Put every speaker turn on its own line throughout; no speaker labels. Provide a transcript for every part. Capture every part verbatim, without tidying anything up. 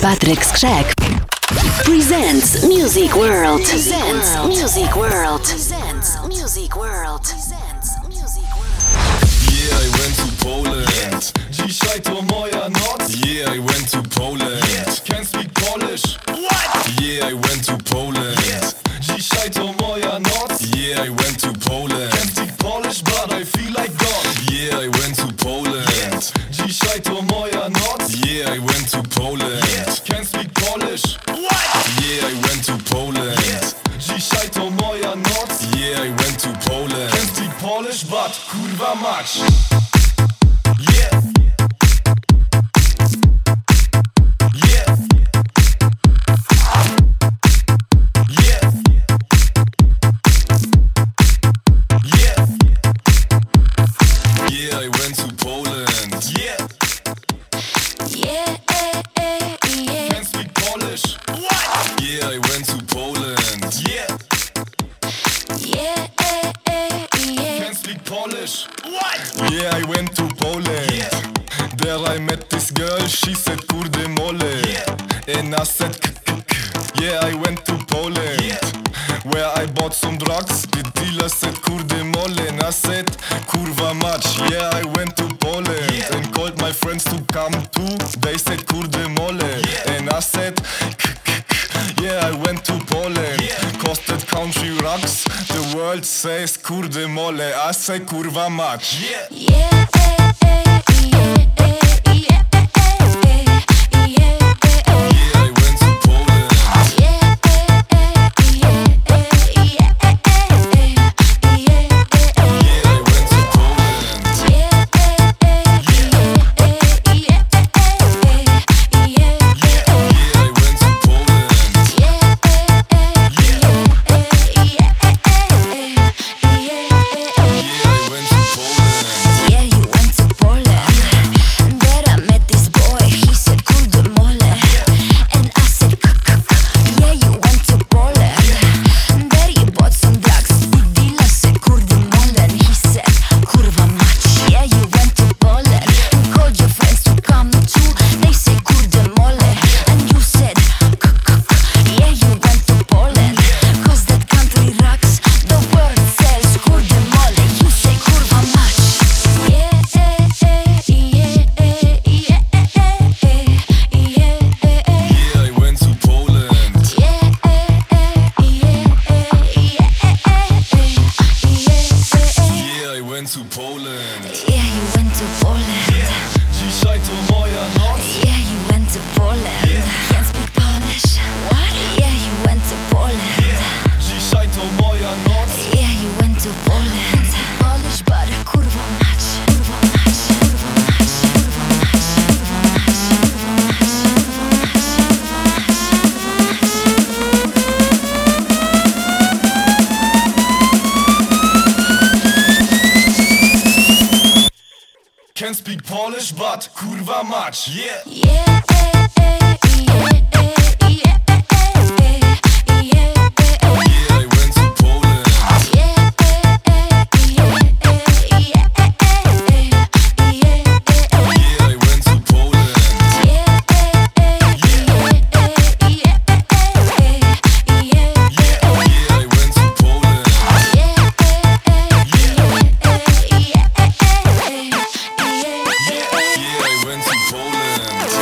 Patryk Skrzek presents Music World. Presents Music World. Presents Music World.
Yeah, I went to Poland. Dzisiaj to moja noc. Yeah, I went to Poland. Can't speak Polish. What? Yeah, I went to Poland. Dzisiaj to moja noc. Yeah, I went to Poland. Can't speak Polish, but I feel like God. Yeah, I went to Poland. Dzisiaj to moja noc. Yeah, I went to Poland. Can't speak Polish. What? Yeah, I went to Poland. Dzisiaj to moja noc. Yeah, I went to Poland. Can't speak Polish, but kurwa mać. Yeah. Yeah. Yeah. Yeah. Yeah, I went to Poland. Yeah.
Yeah, eh, eh, yeah.
Can't speak Polish. What? Yeah, I went to Poland. Yeah.
Yeah, eh, eh, yeah.
Can't speak Polish. What? Yeah, I went to Poland. Yeah. There I met this girl, she said kurde mole. Yeah. And I said k k k. Yeah, I went to Poland. Yeah. Where I bought some drugs. The dealer said kurde mole. And I said kurwa mać. Yeah, I went to Poland. Yeah. And called my friends to come too. They said kurde mole. Yeah. And I said k k k. Yeah, I went to Poland. Yeah. Costed country rocks. The world says kurde mole. I say kurwa mać. Yeah.
Yeah, eh, eh, yeah, eh, yeah, eh, eh, yeah, eh, eh.
Yeah, I went to Poland.
Yeah, eh, eh, yeah, eh, yeah, eh, eh, yeah, eh, eh.
Yeah, I went to Poland.
Yeah, eh, eh, yeah, eh, yeah, eh, eh, yeah, eh, eh.
Yeah, I went to Poland.
Yeah, eh, eh, yeah, eh, yeah, eh, eh, yeah, eh, eh.
Yeah, I went to Poland.
Yeah, you went to Poland. There I met this boy. He said kurde mole. And I said k k k. Yeah, you went to Poland. There you bought some drugs. The dealer said kurde mole. And he said kurwa mać. Yeah, you went to Poland. And called your friends to come too. They say kurde mole. And you said k k k. Yeah, you went to Poland. Cause that country rocks. The world sells kurde mole. You say kurwa mać. Yeah, eh, eh, yeah, eh, yeah, eh, eh, yeah, eh, eh.
Yeah, I went to Poland.
Yeah, eh, eh, yeah, eh, yeah, eh, eh, yeah, eh, eh.
Yeah, I went to Poland.
Yeah, you went to Poland.
Dzisiaj to moja noc.
Yeah, you went to Poland. Can't speak Polish. What? Yeah, you went to Poland.
Dzisiaj to moja noc.
Yeah, you went to Poland. Polish, but kurwa mać. Kurwa mać. Kurwa mać. Kurwa mać. Kurwa mać.
Can't speak Polish, but kurwa mać. Yeah.
Yeah, eh, eh, yeah, eh, yeah, eh, eh, yeah, eh, eh.
Yeah, I went to Poland.
Yeah, eh, eh, yeah, eh, yeah, eh, eh, yeah, eh, eh.
Yeah, I went to Poland.
Yeah, eh, eh, yeah, eh, yeah, eh, eh, yeah, eh,
Yeah,
eh.
yeah, I went to Poland.
Yeah, eh, eh, yeah, eh, yeah, eh, eh, yeah,
Yeah,
eh,
yeah, I went to Poland.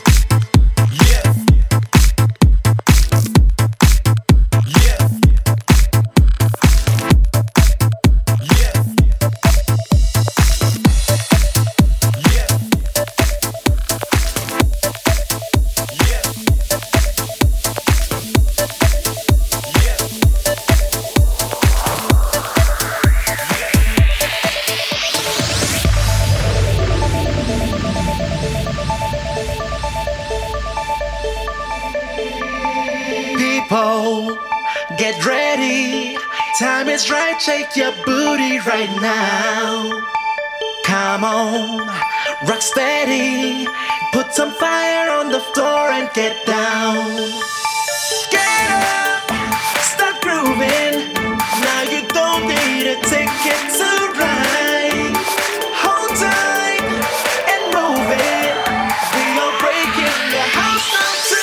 People, get ready. Time is right, shake your booty right now. Come on, rock steady. Put some fire on the floor and get down. Get up, start grooving. Now you don't need a ticket to ride. Hold tight and move it. We are breaking the house down to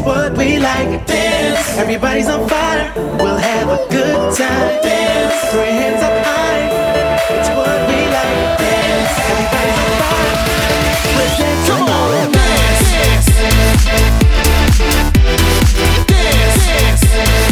what we like. Dance. Everybody's on fire. We'll have a good time. Dance. Throw your hands up high. It's what we like. Dance. Everybody's on fire. We're dancing. Come on, dance. Dance. Dance.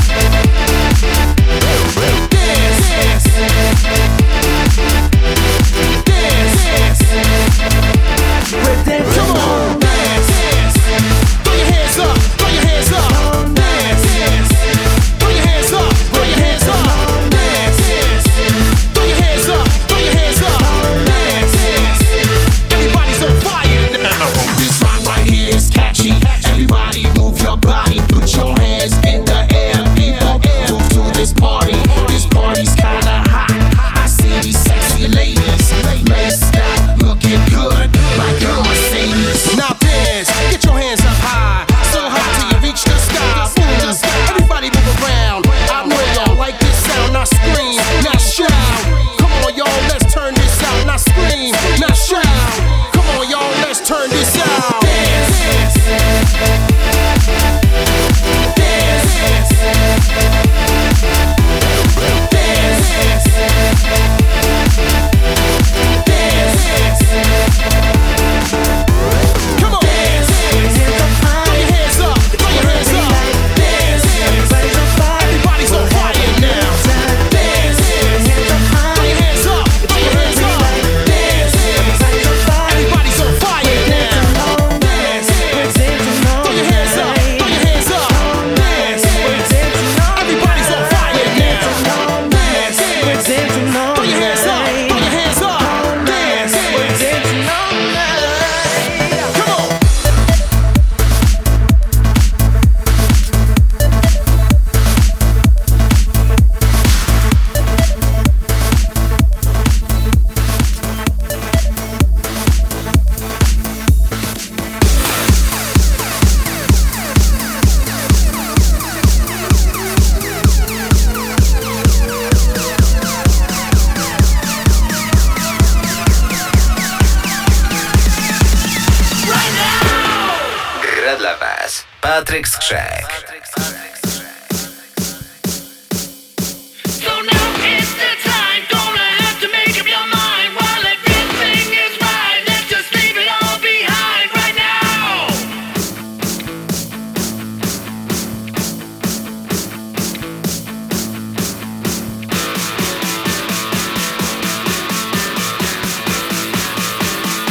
We're dancing. Come on, dance. Throw your hands up. Throw your hands up. Dance. Throw your hands up. Throw your hands up. Dance. Throw your hands up. Throw your hands up. Dance. Everybody's on fire now. This rock right here is catchy. Everybody move your body. Put your hands in the air. People move to this party. This party's kinda hot. I see these sexy ladies. Laced out, looking good, like a Mercedes. Now dance, get your hands up high, so high till you reach the sky. Mm. Everybody move around. I know y'all like this sound. Now scream, now shout. Come on, y'all, let's turn this out. Now scream, now shout. Come on, y'all, let's turn this out. Dance, dance, dance, dance. Come on, dance. Throw your hands up, throw your hands up. Dance. Everybody's on fire. Everybody's on fire now. Dance. Throw your hands up, throw your hands up. Dance. Everybody's on fire now. Dance. Throw your hands up, throw your hands up. Dance. Everybody's on fire now. Dance. Throw your hands up, throw your hands up. Dance. Come on.
Gra dla was Patryk Skrzek.
So now is the time, gonna have to make up your mind. While everything is right, let's just leave it all behind right now.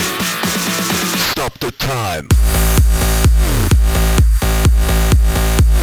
Stop the time.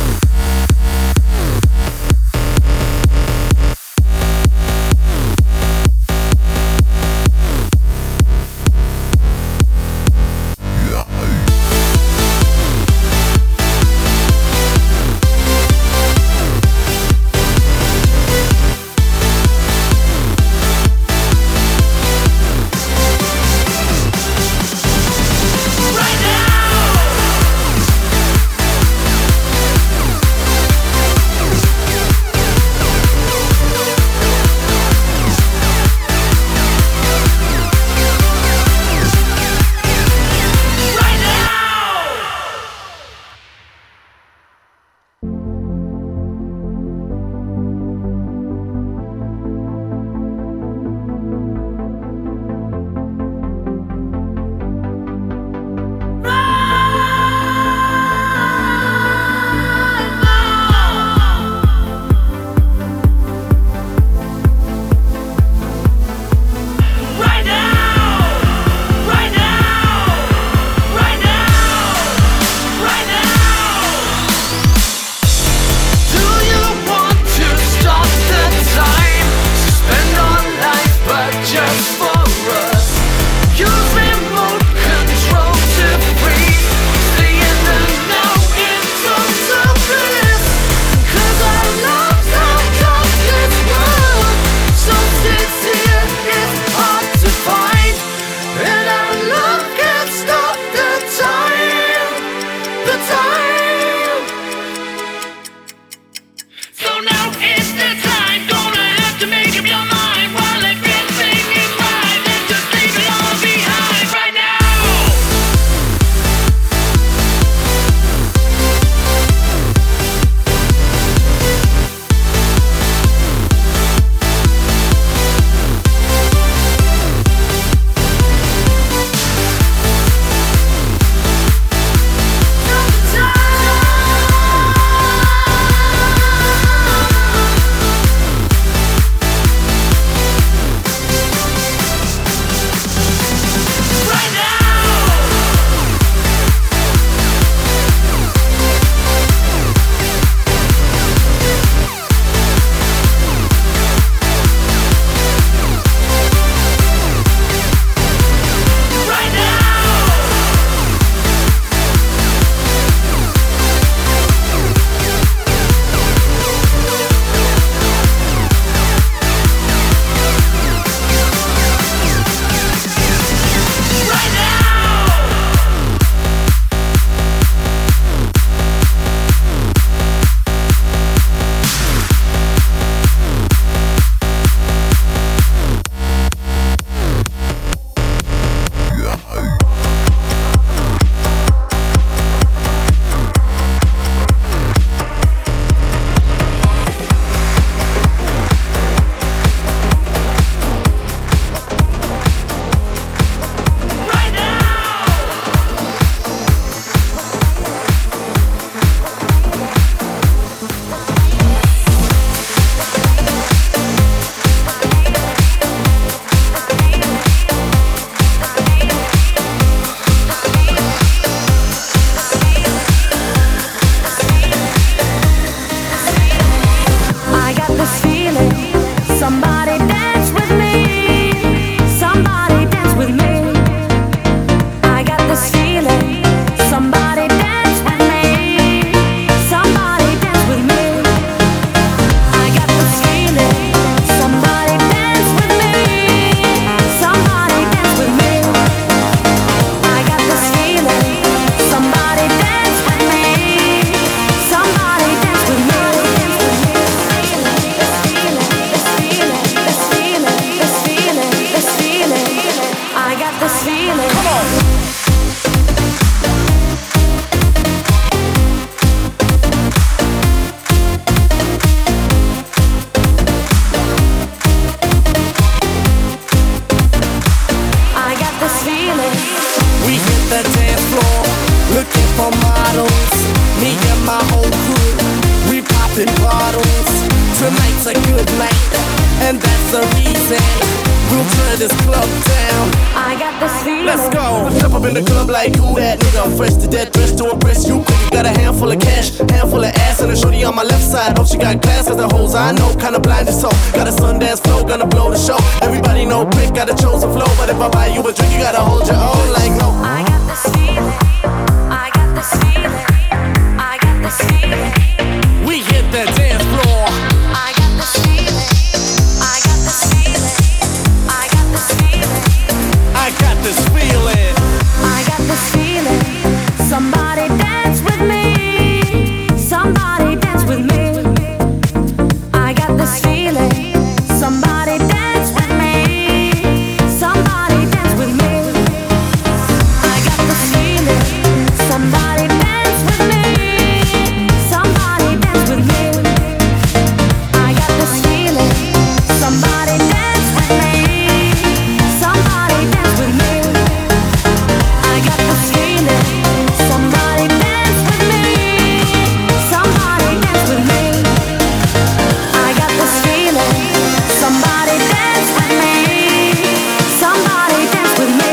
a good night, and that's the reason we'll turn this club down.
I got this feeling.
Let's go. Step up in the club like who that nigga? I'm fresh to death, dressed to impress you. Got a handful of cash, handful of ass, and a shorty on my left side. Hope she got class, cause the hoes I know kinda blind as so. Got a Sundance flow, gonna blow the show. Everybody know quick, got a chosen flow. But if I buy you a drink, you gotta hold your own like no.
I got this feeling. I got this feeling. I got this feeling.
We hit the dance floor.
I got this feeling. I got this feeling. I got this feeling.
I got this feeling.
I got this feeling. Somebody dance with me. Somebody dance with me. I got this feeling. Somebody dance with me. Somebody dance with me. I got this feeling. Somebody dance with me. Somebody dance with me. I got this feeling. Somebody dance with me. Somebody dance with me. I got this feeling. Somebody dance with me. Somebody dance with me. I got this feeling. Somebody dance with me. Somebody dance with me.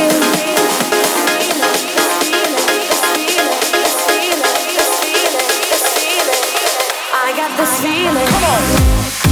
I got this feeling.
Come on.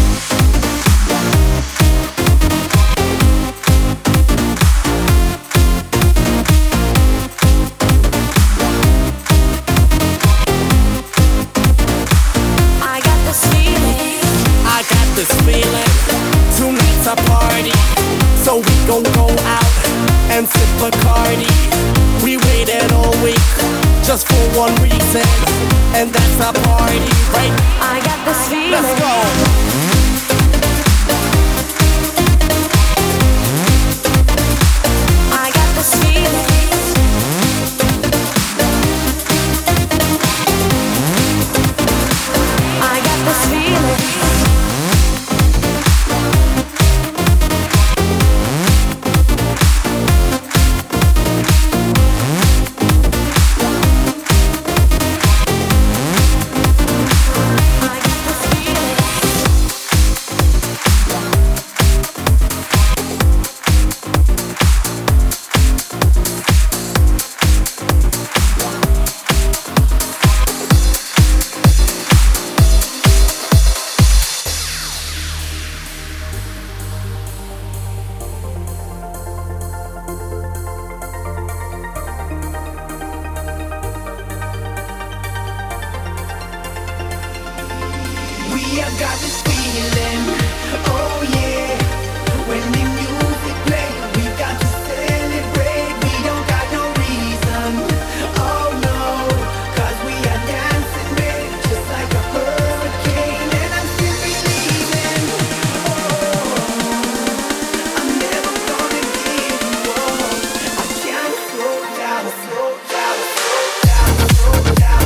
I got this feeling.
I got this feeling. Tonight's a party, so we gon' go out and sip Bacardi. We waited all week just for one reason, and that's a party, right?
I got this feeling.
Let's go.
I got this feeling. I got this feeling. I got this feeling.
We have got this feeling, oh yeah. When the music plays, we got to celebrate. We don't got no reason, oh no. Cause we are dancing, babe, just like a hurricane. And I'm still believing, oh, I'm never gonna give you up. I can't slow down, slow down, slow down, slow down,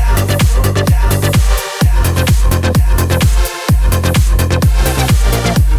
slow down, slow down.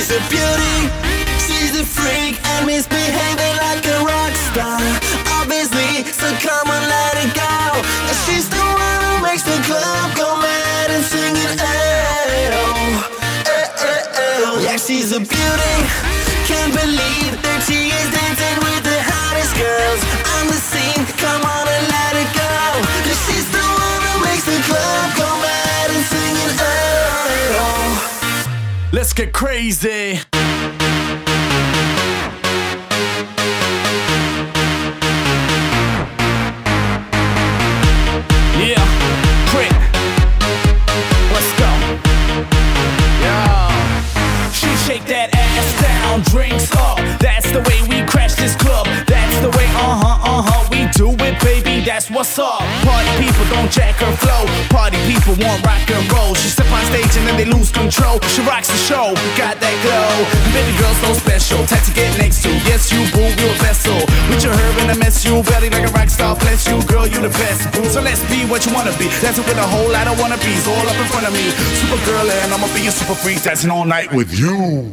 she's a beauty, she's a freak, and misbehaving like a rock star. Obviously, so come on, let it go. She's the one who makes the club go mad and singing, eh, oh, eh, eh, oh. Yeah, she's a beauty, can't believe that she is dancing with the hottest girls on the scene. Come on and let it go. She's the one who makes the club go mad and singing, eh, oh. Let's get crazy. Yeah, Crit. Let's go. Yeah. She shake that ass down, drinks up. That's the way we crash this club. That's the way, uh-huh, uh-huh, we do it, baby. That's what's up. Party people don't jack her flow. Party people want rock and roll. She step on stage and then they lose control. She rocks the show, got that glow. Baby girl so special, tight to get next to. Yes, you boo, you a vessel. With your herb and I mess you, belly like a rock star. Bless you, girl, you the best. So let's be what you wanna be. Dancing with a whole lot of wannabes all up in front of me. Super girl and I'ma be a super freak. Dancing all night with you.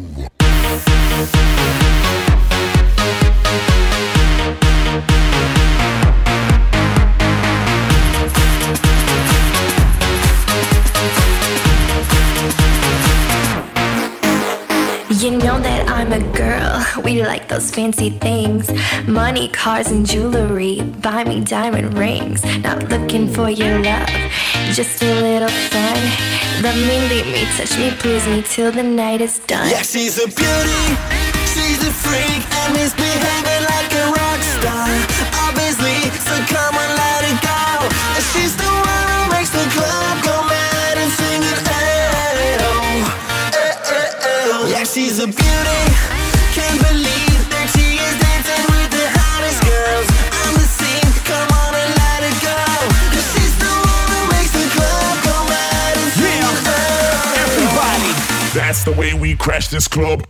You know that I'm a girl, we like those fancy things. Money, cars and jewelry, buy me diamond rings. Not looking for your love, just a little fun. Love me, leave me, touch me, please me till the night is done.
Yeah, she's a beauty, she's a freak, and misbehaving like a rock star. Obviously, so come on, let it go. And she's the one who makes the club go mad and singing, eh, oh, eh, eh, oh. Yeah, she's a beauty, can't believe that she is dancing with the hottest girls on the scene. Come on and let it go. 'Cause she's the one who makes the club go mad and singing, eh, oh.
Everybody, that's the way we crash this club.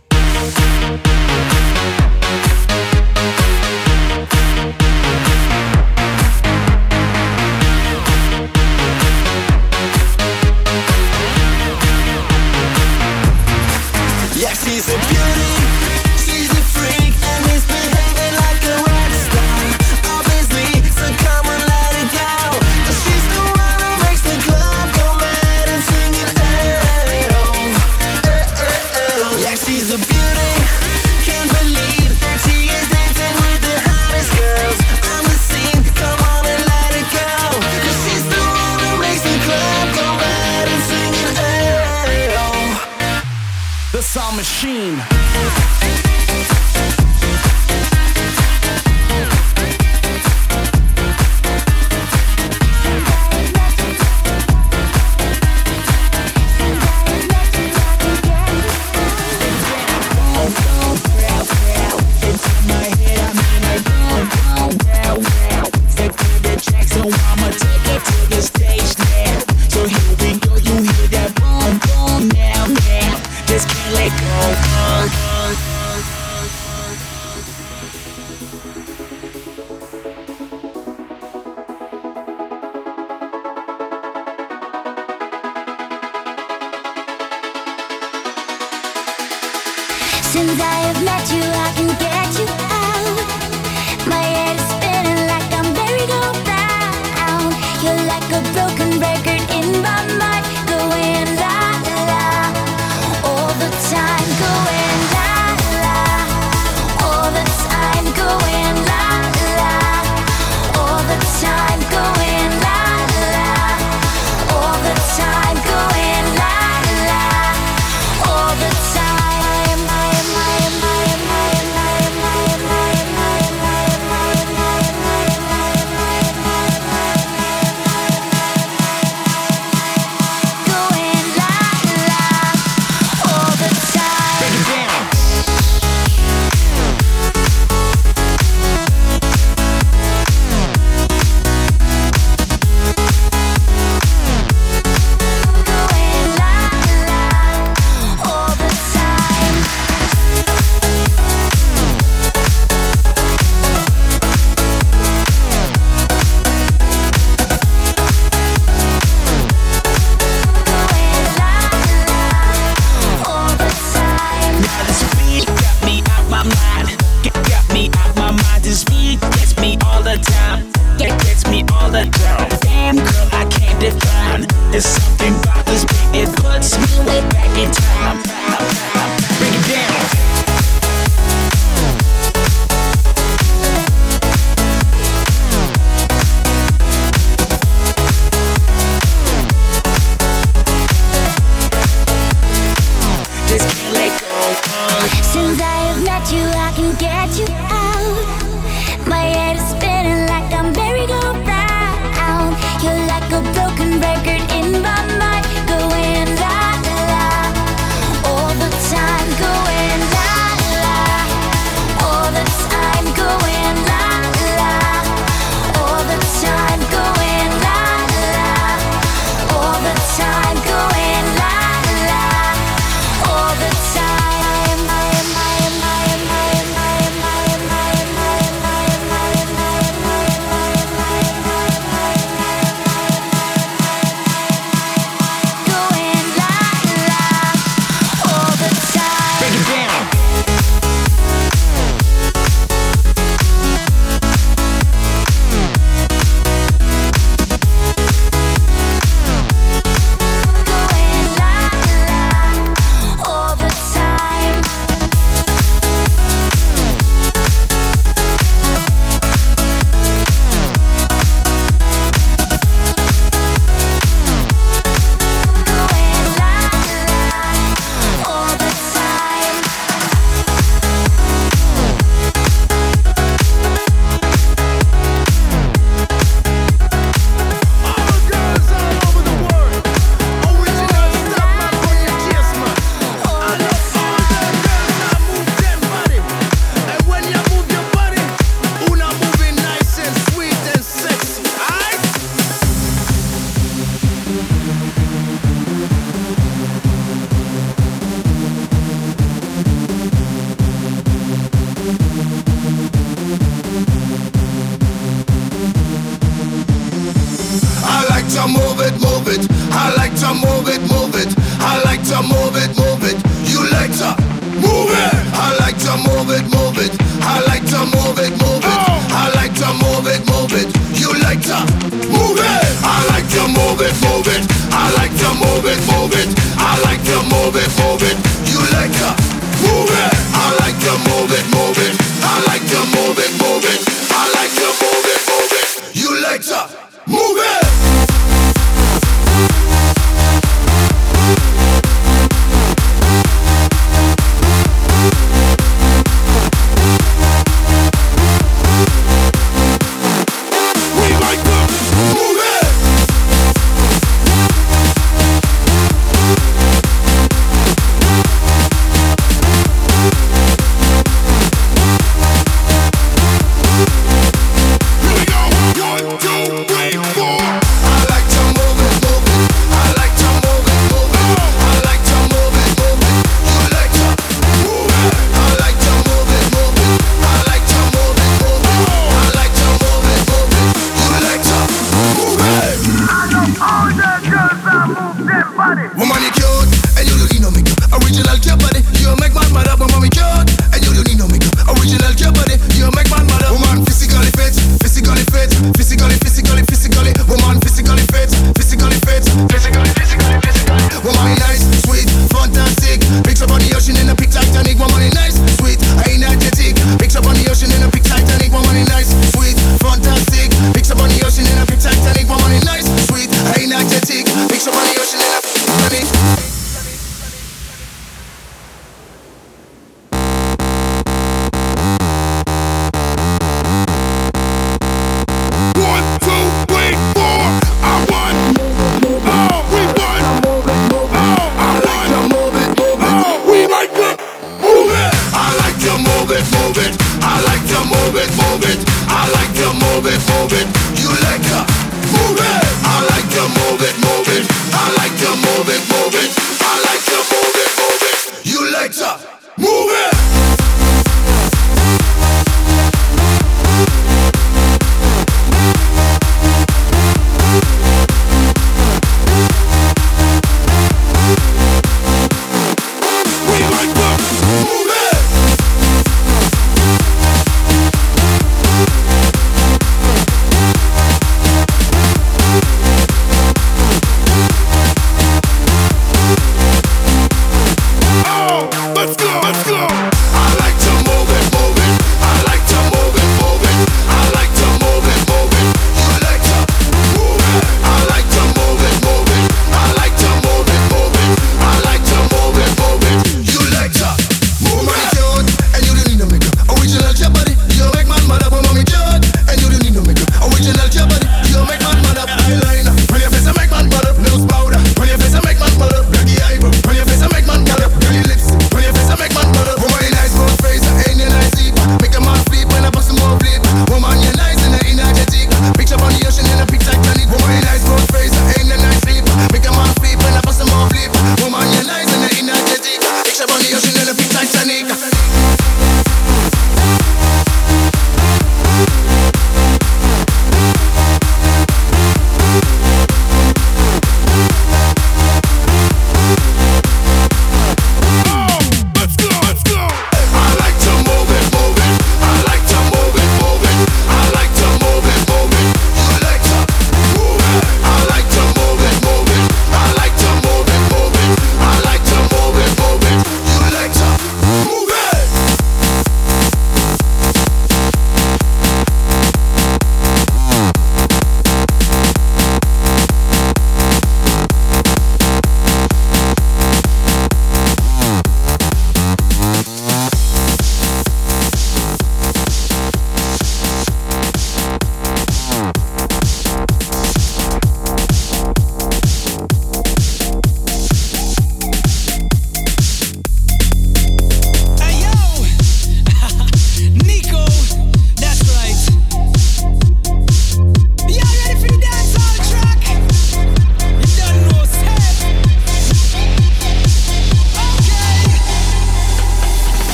Yeah, she's a beauty, she's a freak, and misbehaving like a rock star. Obviously, so come on, let it go. She's the one who makes the club go mad and singing, eh, oh, eh, eh, oh. Yeah, she's a beauty, can't believe that she is dancing with the hottest girls on the scene. Come on and let it go. 'Cause she's the one who makes the club go mad and singing, eh, oh. The Sound Machine.
Since I have met you, I can get you out. My head is spinning like I'm merry-go-round. You're like a broken record in my mind, going la la all the time, going la la all the time, going la la all the time, going la la all the time, going la la all the time.
There's something about this beat, it puts me way back in time. Bring it down. Just can't let go.
Since I have met you, I can get you out. My head is spinning like a merry-go-round. You're like a broken record in my mind, going la la all the time, going la la all the time, going la la all the time, going la la all the time, going la la all the time. Going la la all the time.
Break it down.
Going la la all the time. Going la la all the time.
All girls all over the world. Original stuff, man, on your chest, man. I love all the girls that move them body. And when you move your body, una moving nice and sweet and sexy. Aight?
I like to move it, move it. I like to move it, move it. I like to move it, move it. You like to move it. I like to move it, move it. I like to move it, move it. I like to move it, move it. You like to move it. I like to move it, move it. I like to move it, move it. I like to move it, move it. You like to move it. I like to move it, move it. I like to move it, move it. I like to move it, move it. You like to move it.
We like to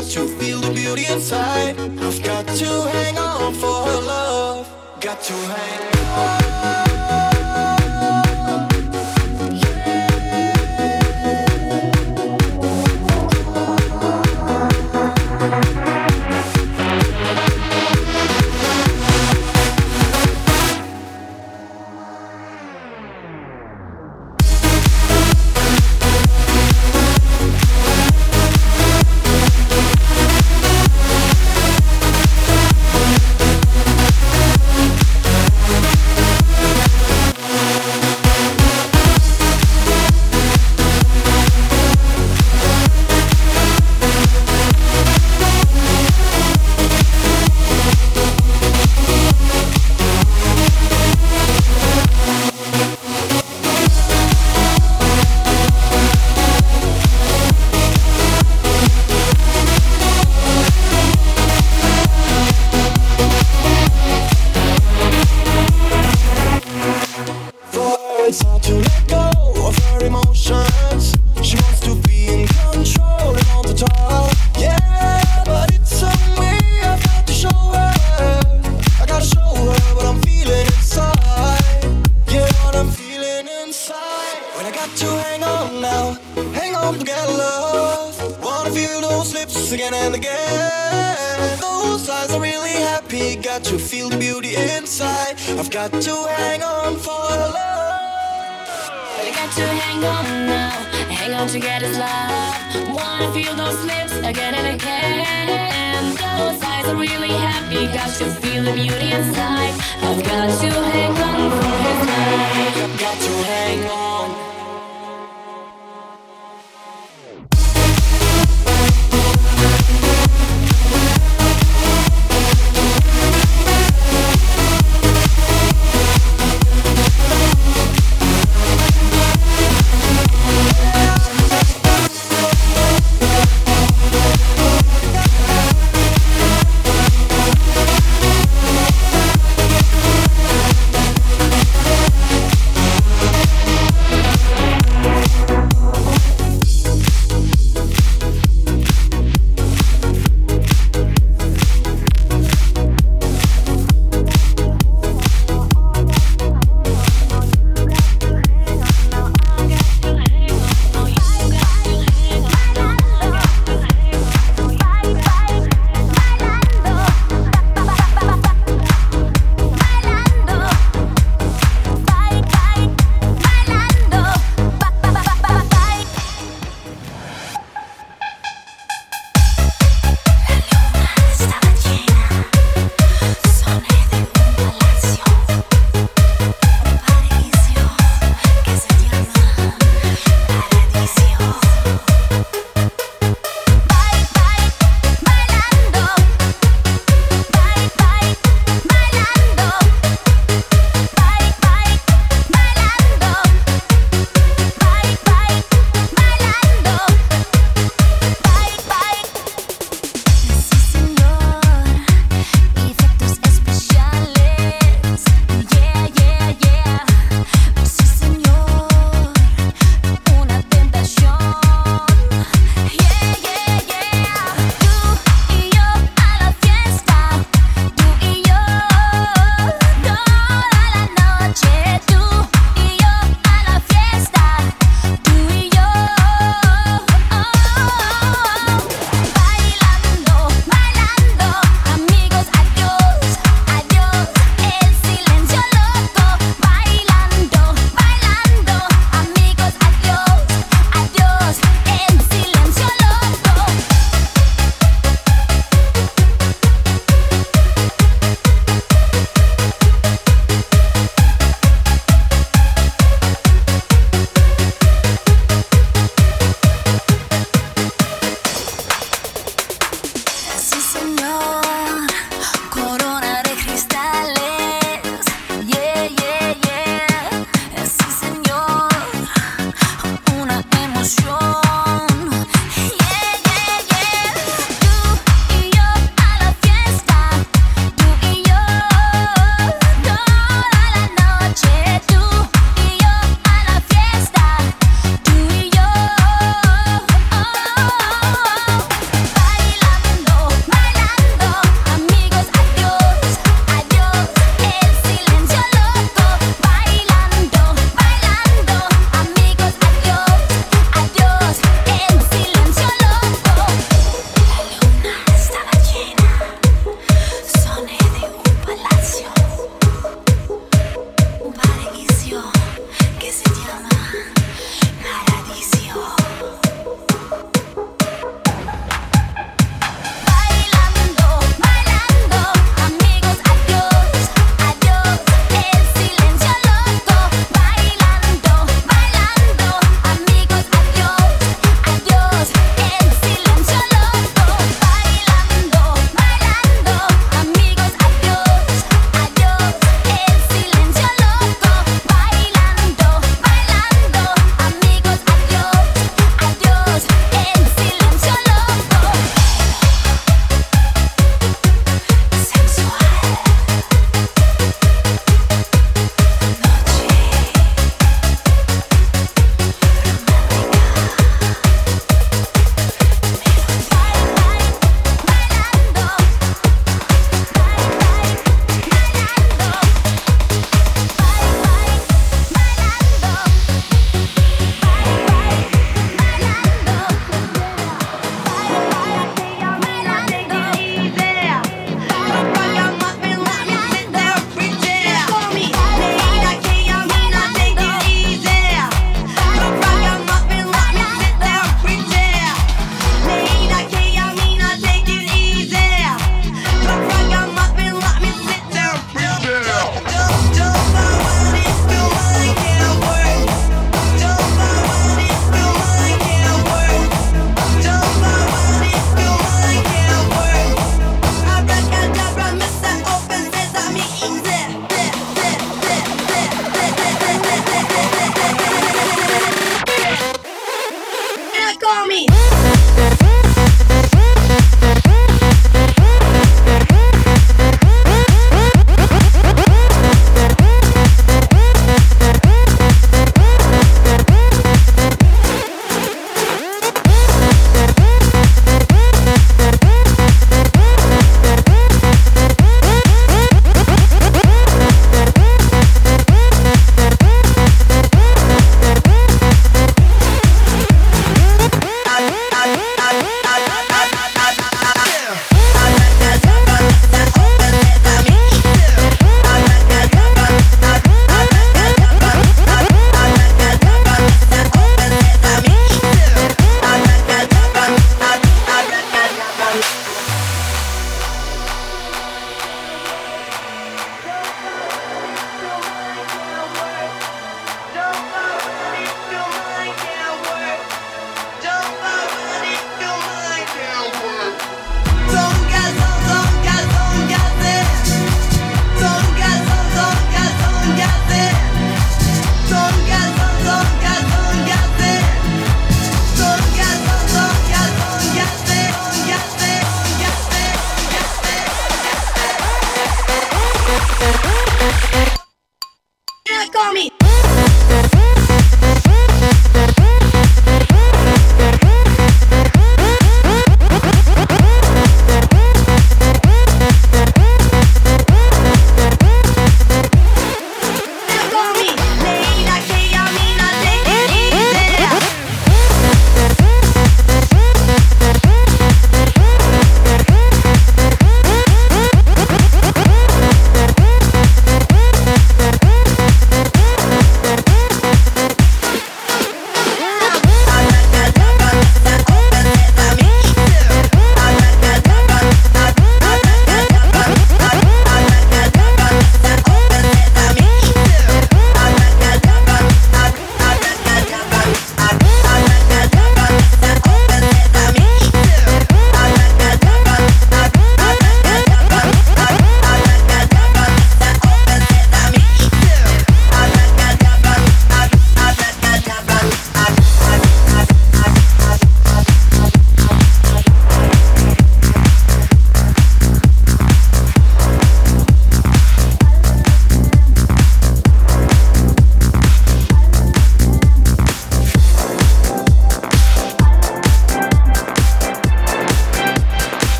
got to feel the beauty inside. I've got to hang on for her love. Got to hang on. It's hard to let go of her emotions. She wants to be in control and on the top. Yeah, but it's on me, I've got to show her. I gotta show her what I'm feeling inside. Yeah, what I'm feeling inside. When I got to hang on now, hang on to get love. Wanna feel those lips again and again. Those eyes are really happy. Got to feel the beauty inside. I've got to hang on for love.
I got to hang on now, hang on to get his love. Wanna feel those lips again and again. Those eyes are really happy, got to feel the beauty inside. I've got to hang on for his love.
I've got to hang on.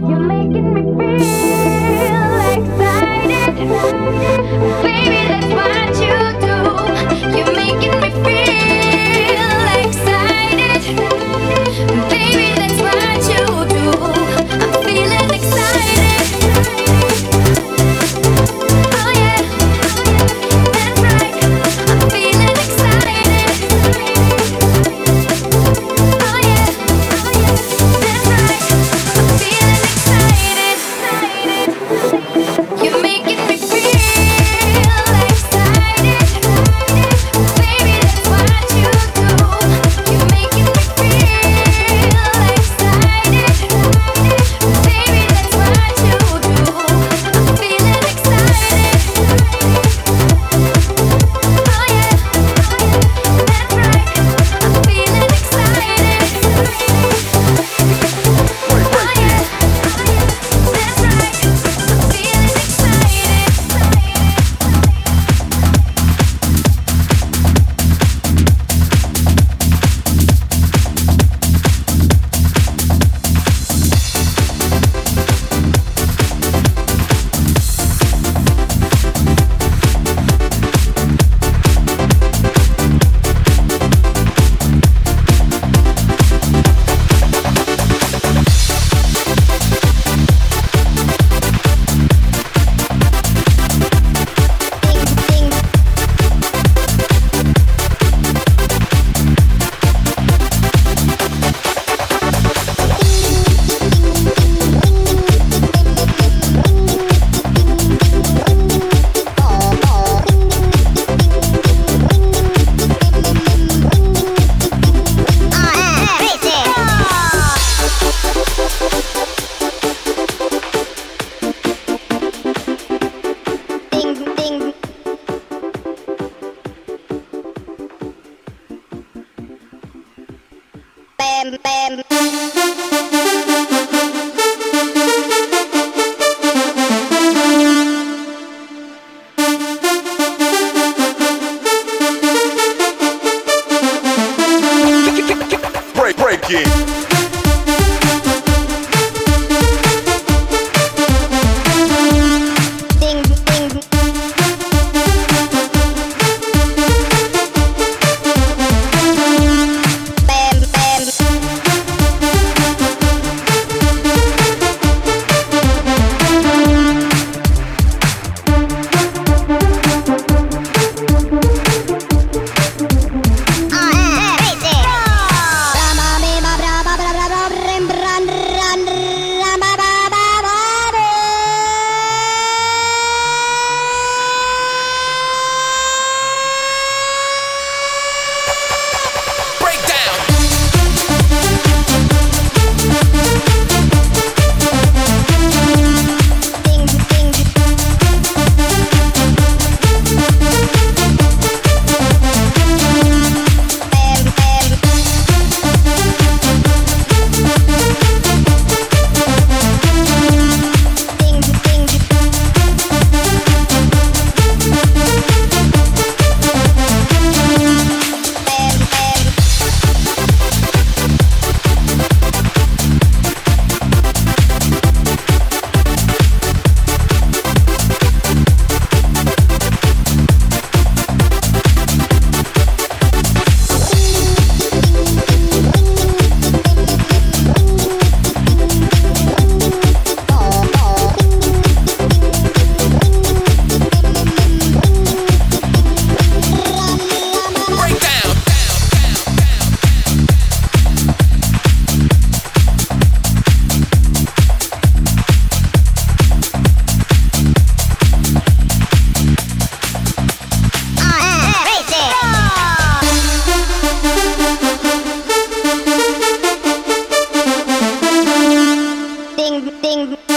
Ding, ding.